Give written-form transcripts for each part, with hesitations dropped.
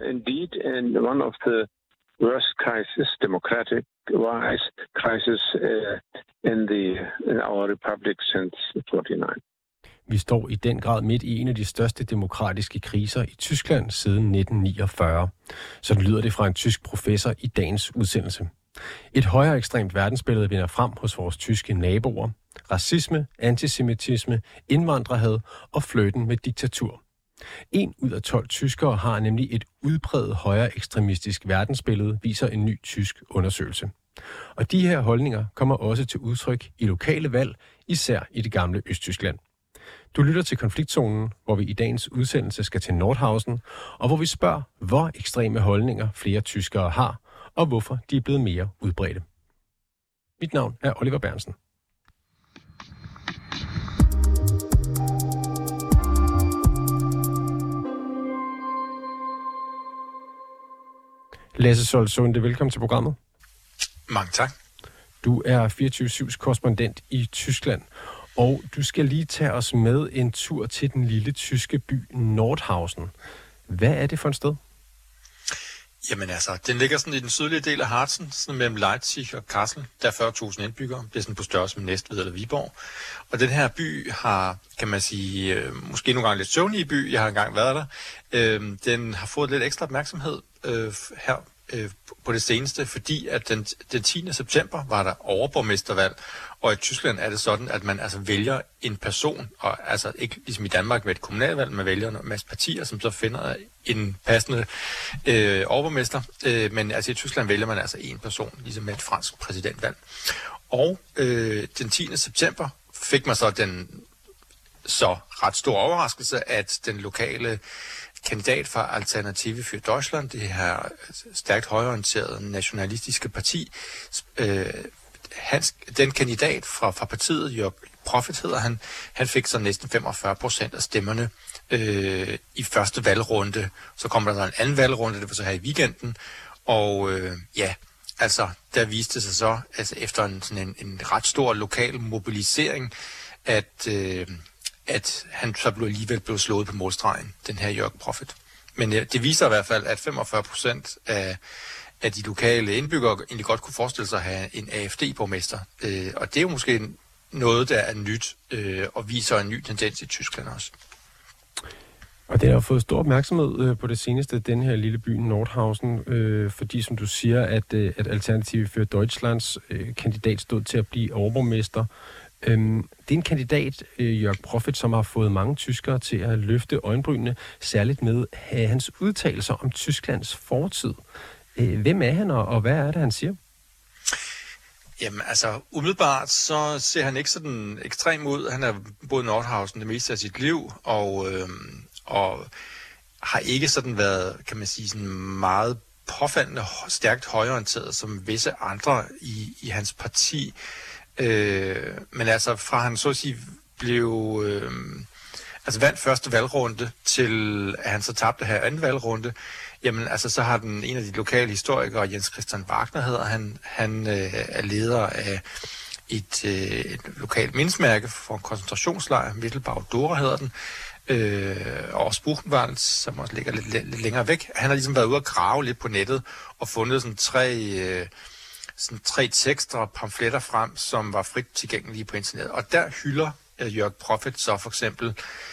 indeed in one of the worst crisis, democratic-wise crisis in our republic since 49. Vi står i den grad midt i en af de største demokratiske kriser i Tyskland siden 1949. Så lyder det fra en tysk professor i dagens udsendelse. Et højere ekstremt verdensbillede vinder frem hos vores tyske naboer. Racisme, antisemitisme, indvandrerhad og flirten med diktatur. 1 ud af 12 tyskere har nemlig et udpræget højere ekstremistisk verdensbillede, viser en ny tysk undersøgelse. Og de her holdninger kommer også til udtryk i lokale valg, især i det gamle Østtyskland. Du lytter til Konfliktzonen, hvor vi i dagens udsendelse skal til Nordhausen, og hvor vi spørger, hvor ekstreme holdninger flere tyskere har, og hvorfor de er blevet mere udbredte. Mit navn er Oliver Bernsen. Lasse Solsunde, velkommen til programmet. Mange tak. Du er 24/7's korrespondent i Tyskland, og du skal lige tage os med en tur til den lille tyske by Nordhausen. Hvad er det for et sted? Jamen altså, den ligger sådan i den sydlige del af Harzen, sådan mellem Leipzig og Kassel. Der er 40.000 indbyggere. Det er sådan på størrelse med Næstved eller Viborg. Og den her by har, kan man sige, måske nogle gange lidt søvnige by. Jeg har engang været der. Den har fået lidt ekstra opmærksomhed her på det seneste, fordi at den 10. september var der overborgmestervalg, og i Tyskland er det sådan, at man altså vælger en person, og altså ikke ligesom i Danmark med et kommunalvalg, man vælger en masse partier, som så finder en passende overborgmester, men altså i Tyskland vælger man altså en person, ligesom med et fransk præsidentvalg. Og den 10. september fik man så den så ret store overraskelse, at den lokale kandidat fra Alternative für Deutschland, det her stærkt højreorienterede nationalistiske parti, den kandidat fra partiet, Jörg Profit hedder han fik så næsten 45% af stemmerne i første valgrunde. Så kommer der en anden valgrunde, det var så her i weekenden, og altså der viste sig så, altså efter en ret stor lokal mobilisering, at han så alligevel blev slået på målstregen, den her Jörg Profit. Men det viser i hvert fald, at 45% af de lokale indbyggere egentlig godt kunne forestille sig at have en AfD-borgmester. Og det er jo måske noget, der er nyt, og viser en ny tendens i Tyskland også. Og den har fået stor opmærksomhed på det seneste, den her lille by Nordhausen, fordi som du siger, at Alternative für Deutschlands kandidat stod til at blive overborgmester. Det er en kandidat, Jörg Profit, som har fået mange tyskere til at løfte øjenbrynene, særligt med hans udtalelser om Tysklands fortid. Hvem er han, og hvad er det, han siger? Jamen altså, umiddelbart så ser han ikke sådan ekstrem ud. Han har boet i Nordhausen det meste af sit liv, og har ikke sådan været, kan man sige, sådan meget påfaldende, stærkt højreorienteret som visse andre i hans parti. Men altså fra han så at sige blev vandt første valgrunde til at han så tabte her anden valgrunde, jamen altså så har en af de lokale historikere, Jens Christian Wagner hedder han er leder af et lokalt mindesmærke for en koncentrationslejr, Mittelbau Dora hedder den, og også Buchenwald, som også ligger lidt længere væk. Han har ligesom været ude at grave lidt på nettet og fundet sådan tre tekster og pamfletter frem, som var frit tilgængelige på internettet. Og der hylder Jörg Profit så for eksempel,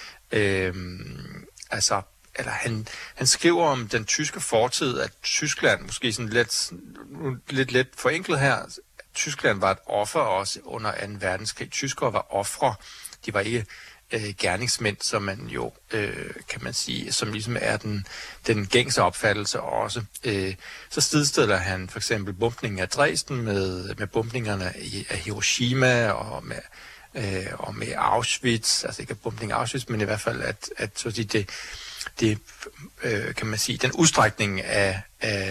han skriver om den tyske fortid, at Tyskland, måske sådan lidt forenklet her, Tyskland var et offer også under 2. verdenskrig. Tyskere var ofre. De var ikke gerningsmænd, som man jo, kan man sige, som ligesom er den gængse opfattelse også. Så stedstiller han for eksempel bombningen af Dresden med bombningerne af Hiroshima og med Auschwitz, altså ikke bombningen af Auschwitz, men i hvert fald at så det kan man sige, den udstrækning af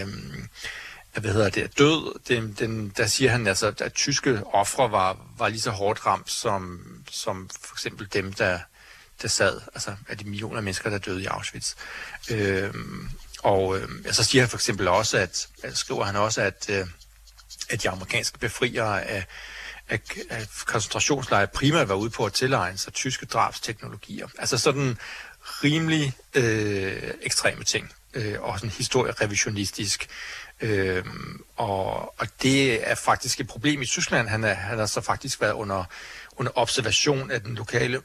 død, der siger han altså, at tyske ofre var lige så hårdt ramt som for eksempel dem, der sad, altså af de millioner af mennesker, der døde i Auschwitz. Så siger han for eksempel også, skriver han også, at de amerikanske befriere af koncentrationslejre primært var ude på at tilegne sig tyske drabsteknologier. Altså sådan rimelig ekstreme ting. og sådan historierevisionistisk. Og det er faktisk et problem i Tyskland. Han har så faktisk været under observation af den lokale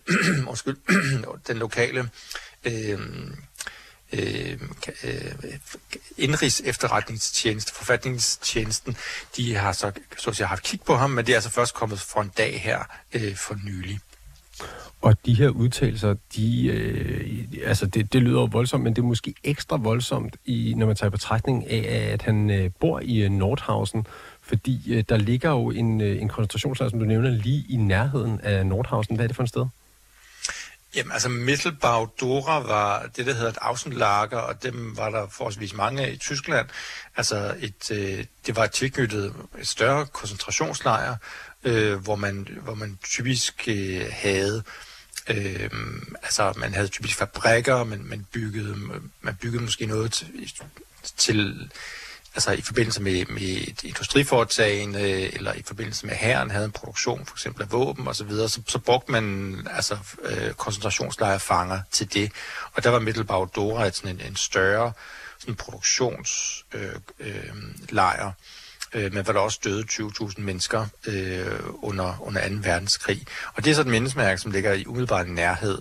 indrigs efterretningstjeneste, forfatningstjenesten. De har så at sige, haft kig på ham, men det er altså først kommet for en dag her for nylig. Og de her udtalelser, det lyder voldsomt, men det er måske ekstra voldsomt, når man tager i betragtning af, at han bor i Nordhausen, fordi der ligger jo en koncentrationslejr, som du nævner, lige i nærheden af Nordhausen. Hvad er det for et sted? Jamen, altså Mittelbau-Dora var det, der hedder et Außenlager, og dem var der forholdsvis mange af i Tyskland. Altså det var tilknyttet et større koncentrationslejr, hvor man typisk havde man havde typisk fabrikker, men man byggede måske noget til altså i forbindelse med et industriforetagende, eller i forbindelse med hæren havde en produktion, for eksempel af våben og så videre, så brugte man koncentrationslejrfanger til det. Og der var Mittelbau-Dora en større sådan produktionslejr, men hvor der også døde 20.000 mennesker under 2. verdenskrig. Og det er så et mindesmærke, som ligger i umiddelbar nærhed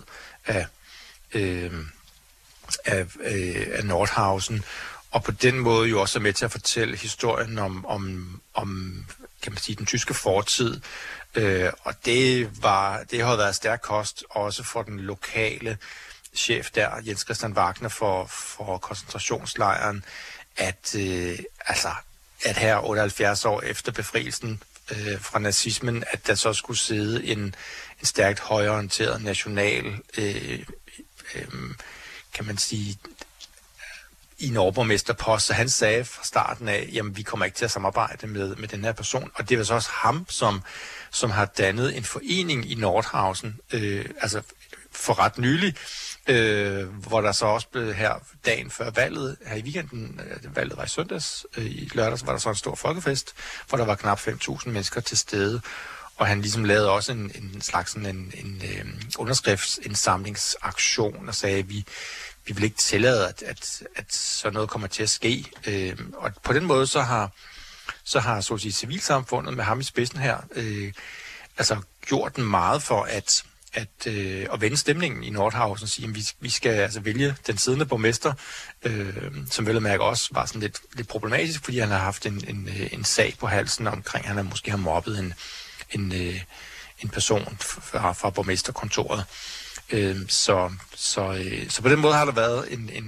af Nordhausen, og på den måde jo også er med til at fortælle historien om kan man sige, den tyske fortid. Og det har været stærk kost også for den lokale chef der, Jens Christian Wagner for koncentrationslejren, at her 78 år efter befrielsen fra nazismen, at der så skulle sidde en stærkt højreorienteret national, kan man sige, i en overborgmesterpost, så han sagde fra starten af, jamen vi kommer ikke til at samarbejde med den her person, og det var så også ham, som har dannet en forening i Nordhausen, for ret nylig, hvor der så også blev her dagen før valget, her i weekenden, valget var i søndags, i lørdags var der så en stor folkefest, hvor der var knap 5.000 mennesker til stede, og han ligesom lavede også en slags en underskriftsindsamlingsaktion og sagde, at vi vil ikke tillade, at sådan noget kommer til at ske. Og på den måde så har så at sige, civilsamfundet med ham i spidsen her gjort den meget for at vende stemningen i Nordhausen og sige, at vi skal altså vælge den siddende borgmester, som vel at mærke også var sådan lidt problematisk, fordi han har haft en sag på halsen omkring, han måske har mobbet en person fra borgmesterkontoret. Så på den måde har der været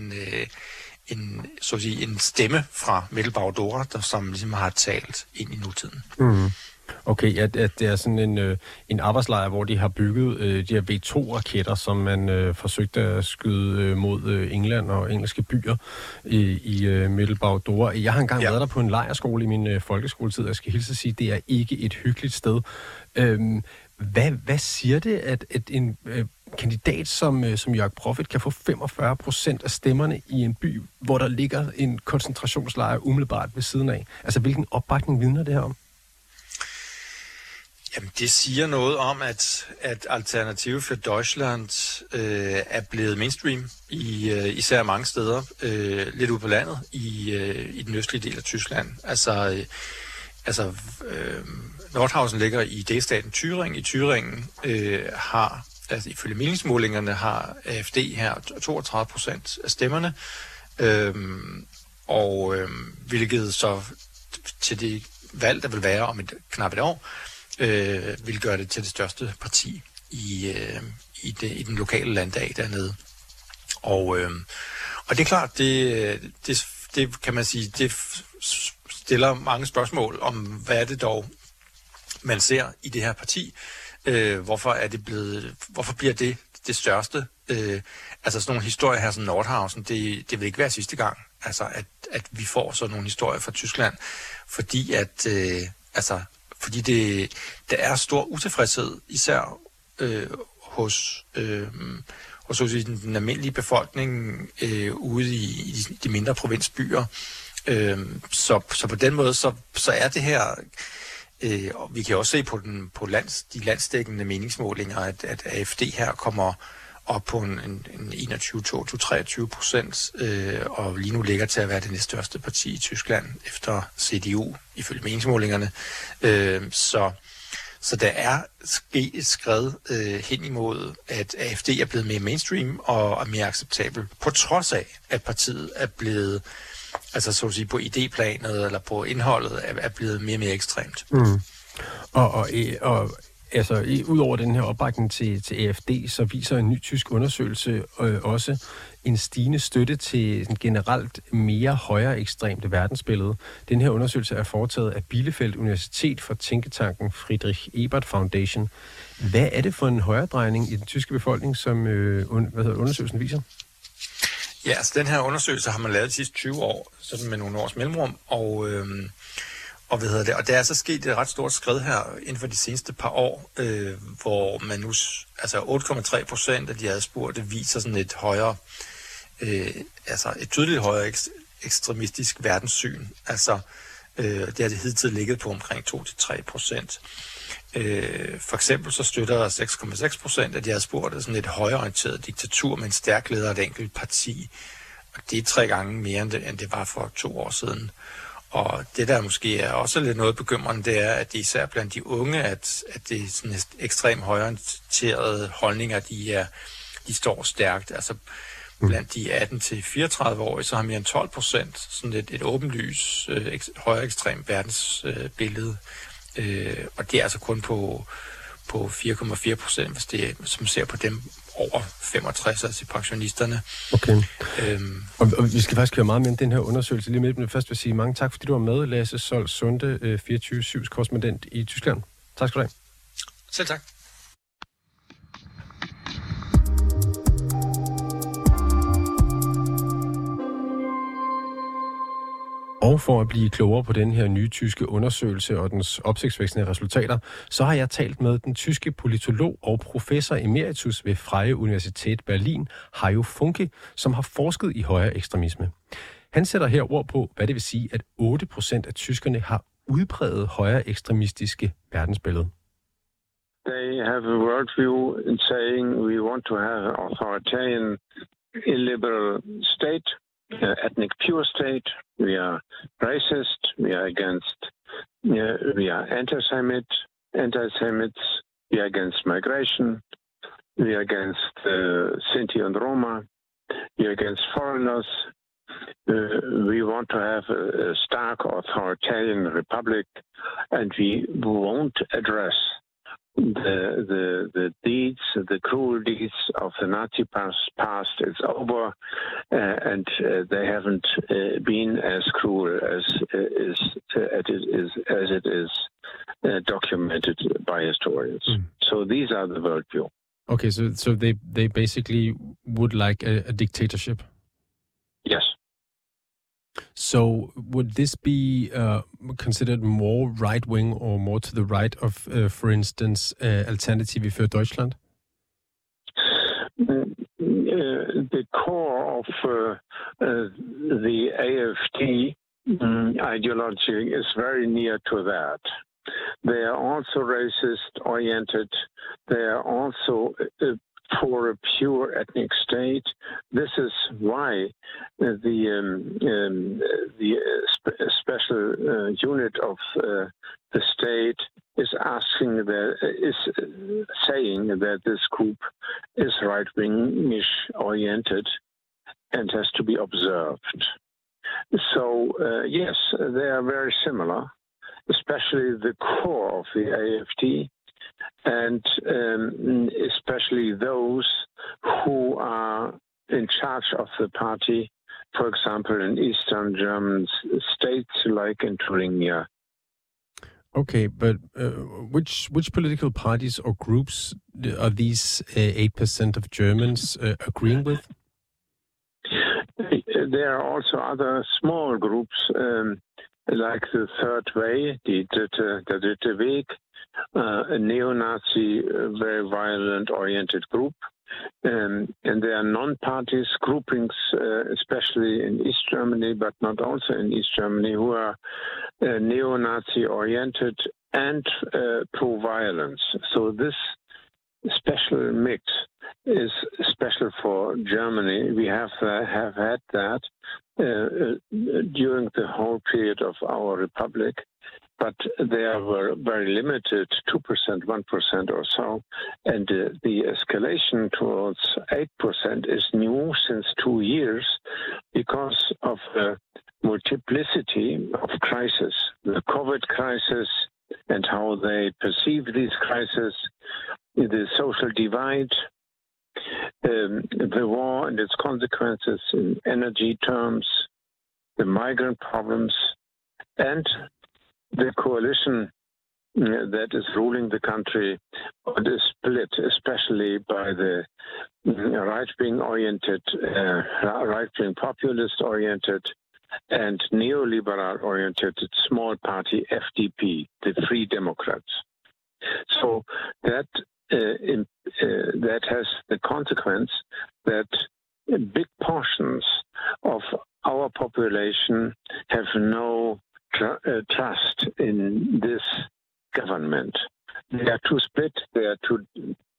en stemme fra Mittelbau-Dora, som ligesom har talt ind i nutiden. Mm. Okay, at det er sådan en arbejdslejr, hvor de har bygget de her V2-raketter, som man forsøgte at skyde mod England og engelske byer i Mittelbau-Dora. Jeg har engang været der på en lejrskole i min folkeskoletid, jeg skal hilse at sige, det er ikke et hyggeligt sted. Hvad siger det, at en kandidat som Jörg Profit kan få 45% af stemmerne i en by, hvor der ligger en koncentrationslejr umiddelbart ved siden af? Altså, hvilken opbakning vidner det her om? Jamen, det siger noget om, at Alternative für Deutschland er blevet mainstream især mange steder, lidt ude på landet, i den østlige del af Tyskland. Nordhausen ligger i delstaten Thüringen. I Thüringen har, ifølge meningsmålingerne, har AfD her 32% af stemmerne, hvilket så til det valg, der vil være om knap et år, vil gøre det til det største parti i den lokale landdag dernede. Og det er klart, det kan man sige, det stiller mange spørgsmål om, hvad er det dog, man ser i det her parti. Hvorfor bliver det største? Sådan nogle historier her som Nordhausen, det vil ikke være sidste gang, at vi får sådan nogle historier fra Tyskland, fordi der er stor utilfredshed, især hos den almindelige befolkning ude i de mindre provinsbyer. Så på den måde, så er det her, og vi kan også se på de landsdækkende meningsmålinger, at AfD her kommer op på en 21-23%, og lige nu ligger til at være det næststørste parti i Tyskland efter CDU, ifølge meningsmålingerne. Så der er sket et skred hen imod, at AfD er blevet mere mainstream og er mere acceptabel, på trods af, at partiet er blevet, altså så at sige, på idéplanet eller på indholdet, er blevet mere og mere ekstremt. Mm. Og altså, udover den her opbakning til AfD, så viser en ny tysk undersøgelse også en stigende støtte til en generelt mere højere ekstremt verdensbillede. Den her undersøgelse er foretaget af Bielefeld Universitet for tænketanken Friedrich Ebert Foundation. Hvad er det for en højredrejning i den tyske befolkning, som undersøgelsen viser? Ja, altså den her undersøgelse har man lavet de sidste 20 år, sådan med nogle års mellemrum, og der er så sket et ret stort skred her inden for de seneste par år, hvor man nu, altså 8,3% af de adspurgte viser sådan et højere, et tydeligt højere ekstremistisk verdenssyn. Altså, det har det hidtil ligget på omkring 2-3%. For eksempel så støtter 6,6% af de adspurgte sådan et højreorienteret diktatur med en stærk leder af et enkelt parti. Og det er 3 gange mere end det var for 2 år siden. Og det der måske er også lidt noget bekymrende, det er, at det især blandt de unge, at det er sådan ekstremt højorienterede holdninger, de står stærkt. Altså blandt de 18-34-årige, så har mere end 12% sådan et åbenlys højere ekstremt verdensbillede. Og det er altså kun på 4,4%, hvis det, som ser på dem over 65, altså pensionisterne. Okay. Og vi skal faktisk høre meget mere om den her undersøgelse lige med, men først vil jeg sige mange tak, fordi du var med, Lasse Sold Sunde, 24/7's korrespondent i Tyskland. Tak skal du have. Selv tak. Og for at blive klogere på den her nye tyske undersøgelse og dens opsigtsvækkende resultater, så har jeg talt med den tyske politolog og professor emeritus ved Freie Universität Berlin, Hajo Funke, som har forsket i højre ekstremisme. Han sætter her ord på, hvad det vil sige, at 8% af tyskerne har udpræget højre ekstremistiske verdensbillede. They have a worldview in saying we want to have an authoritarian, illiberal state. Ethnic pure state, we are racist, we are anti-Semites, we are against migration, we are against Sinti and Roma, we are against foreigners. We want to have a stark authoritarian republic, and we won't address the deeds, the cruel deeds of the Nazi past. It's over, and they haven't been as cruel as it is documented by historians. So these are the worldview. Okay, so they basically would like a dictatorship. Yes. So would this be considered more right-wing or more to the right of, for instance, Alternative für Deutschland? The core of the AfD ideology is very near to that. They are also racist-oriented. They are also for a pure ethnic state. This is why the special unit of the state is saying that this group is right-wingish oriented and has to be observed. So yes, they are very similar, especially the core of the AfD. And especially those who are in charge of the party, for example, in Eastern German states like in Thuringia. Okay, but which political parties or groups are these 8% of Germans agreeing with? There are also other small groups like the Third Way, der Dritte Weg, a neo-Nazi, very violent-oriented group. And there are non-parties groupings, especially in East Germany, but not also in East Germany, who are neo-Nazi-oriented and pro-violence. So this special mix is special for Germany. We have had that during the whole period of our republic, but they were very limited, 2%, 1% or so. And the escalation towards 8% is new since 2 years because of the multiplicity of crises, the COVID crisis and how they perceive these crises, the social divide, the war and its consequences in energy terms, the migrant problems, and the coalition that is ruling the country is split, especially by the right-wing oriented, right-wing populist oriented, and neoliberal oriented small party FDP, the Free Democrats. So that has the consequence that big portions of our population have no trust in this government. They are too split. They are too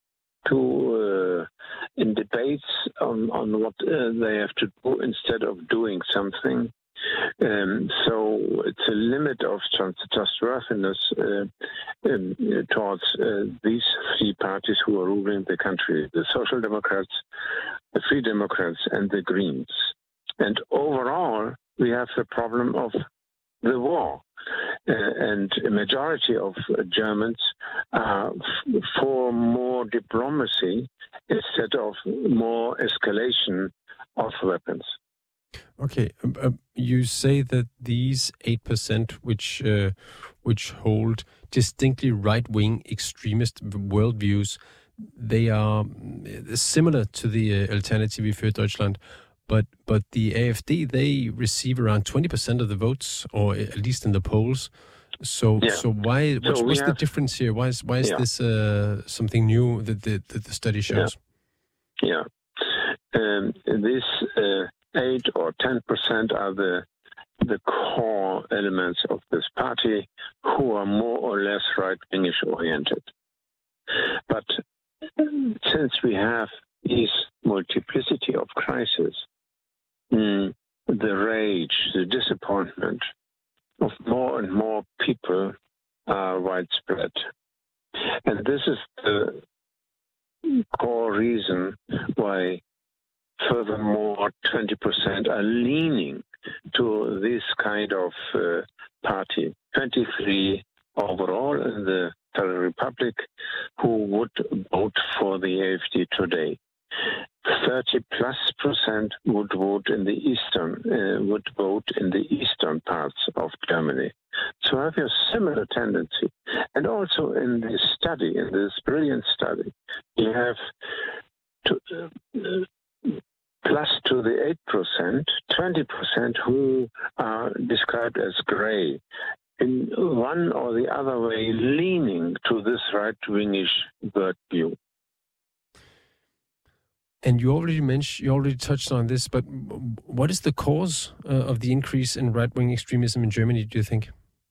in debates on what they have to do instead of doing something. So it's a limit of trustworthiness towards these three parties who are ruling the country: the Social Democrats, the Free Democrats, and the Greens. And overall, we have the problem of the war. And a majority of Germans are for more diplomacy instead of more escalation of weapons. Okay, you say that these 8%, which hold distinctly right-wing extremist worldviews, they are similar to the Alternative für Deutschland. But the AfD, they receive around 20% of the votes, or at least in the polls. So why? What's the difference here? Why is this something new that the study shows? Yeah, this 8 or 10% are the core elements of this party, who are more or less right-wingish oriented. But since we have this multiplicity of crises, the rage, the disappointment of more and more people are widespread. And this is the core reason why furthermore 20% are leaning to this kind of party. 23 overall in the Federal Republic who would vote for the AfD today. 30+% would vote in the eastern parts of Germany. So I have a similar tendency. And also in this study, in this brilliant study, you have plus to the 8%, 20% who are described as gray, in one or the other way leaning to this right-wingish worldview. And you already touched on this, but what is the cause of the increase in right-wing extremism in Germany, do you think?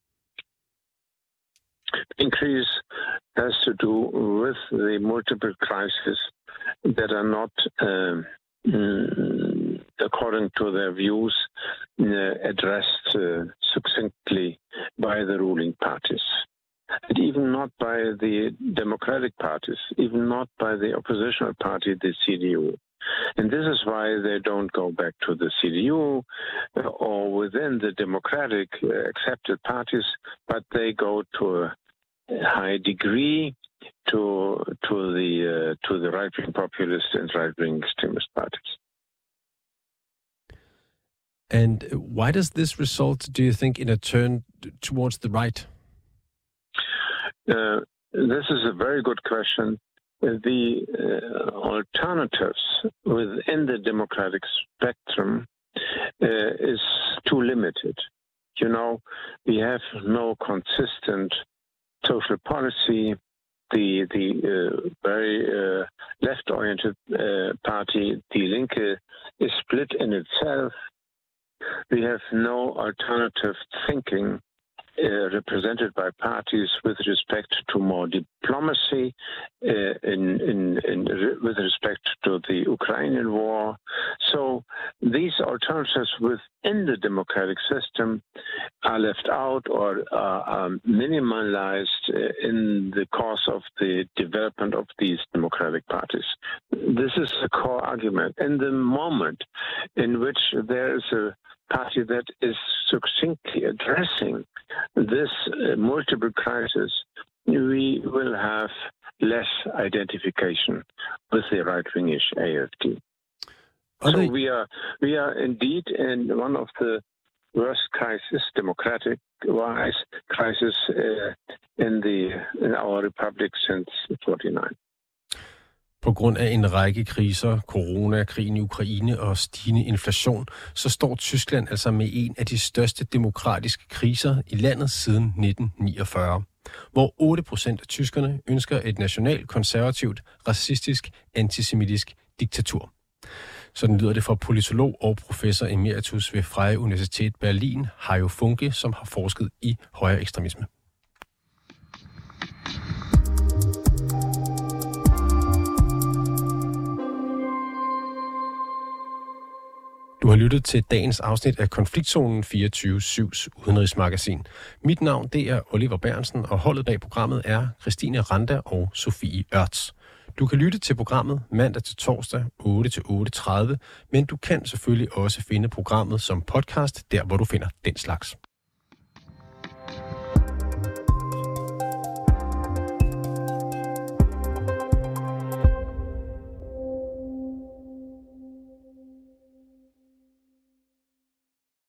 Increase has to do with the multiple crises that are not, according to their views, addressed succinctly by the ruling parties. And even not by the democratic parties, even not by the oppositional party, the CDU. And this is why they don't go back to the CDU or within the democratic accepted parties, but they go to a high degree to the right-wing populist and right-wing extremist parties. And why does this result, do you think, in a turn towards the right? This is a very good question. The alternatives within the democratic spectrum is too limited. You know, we have no consistent social policy. The very left-oriented party, Die Linke, is split in itself. We have no alternative thinking represented by parties with respect to more diplomacy, with respect to the Ukrainian war. So these alternatives within the democratic system are left out or are minimalized in the course of the development of these democratic parties. This is a core argument. In the moment in which there is a party that is succinctly addressing this multiple crisis, we will have less identification with the right-wingish AfD. So we are indeed in one of the worst crisis, democratic-wise crisis in our republic since 1949. På grund af en række kriser, corona, krigen i Ukraine og stigende inflation, så står Tyskland altså med en af de største demokratiske kriser i landet siden 1949, hvor 8% af tyskerne ønsker et nationalt, konservativt, racistisk, antisemitisk diktatur. Sådan lyder det fra politolog og professor emeritus ved Freie Universität Berlin, Hajo Funke, som har forsket i højre ekstremisme. Du har lyttet til dagens afsnit af Konfliktzonen 24/7's udenrigsmagasin. Mit navn det er Oliver Bernsen, og holdet bag programmet er Christine Randa og Sofie Ørts. Du kan lytte til programmet mandag til torsdag 8 til 8:30, men du kan selvfølgelig også finde programmet som podcast, der hvor du finder den slags.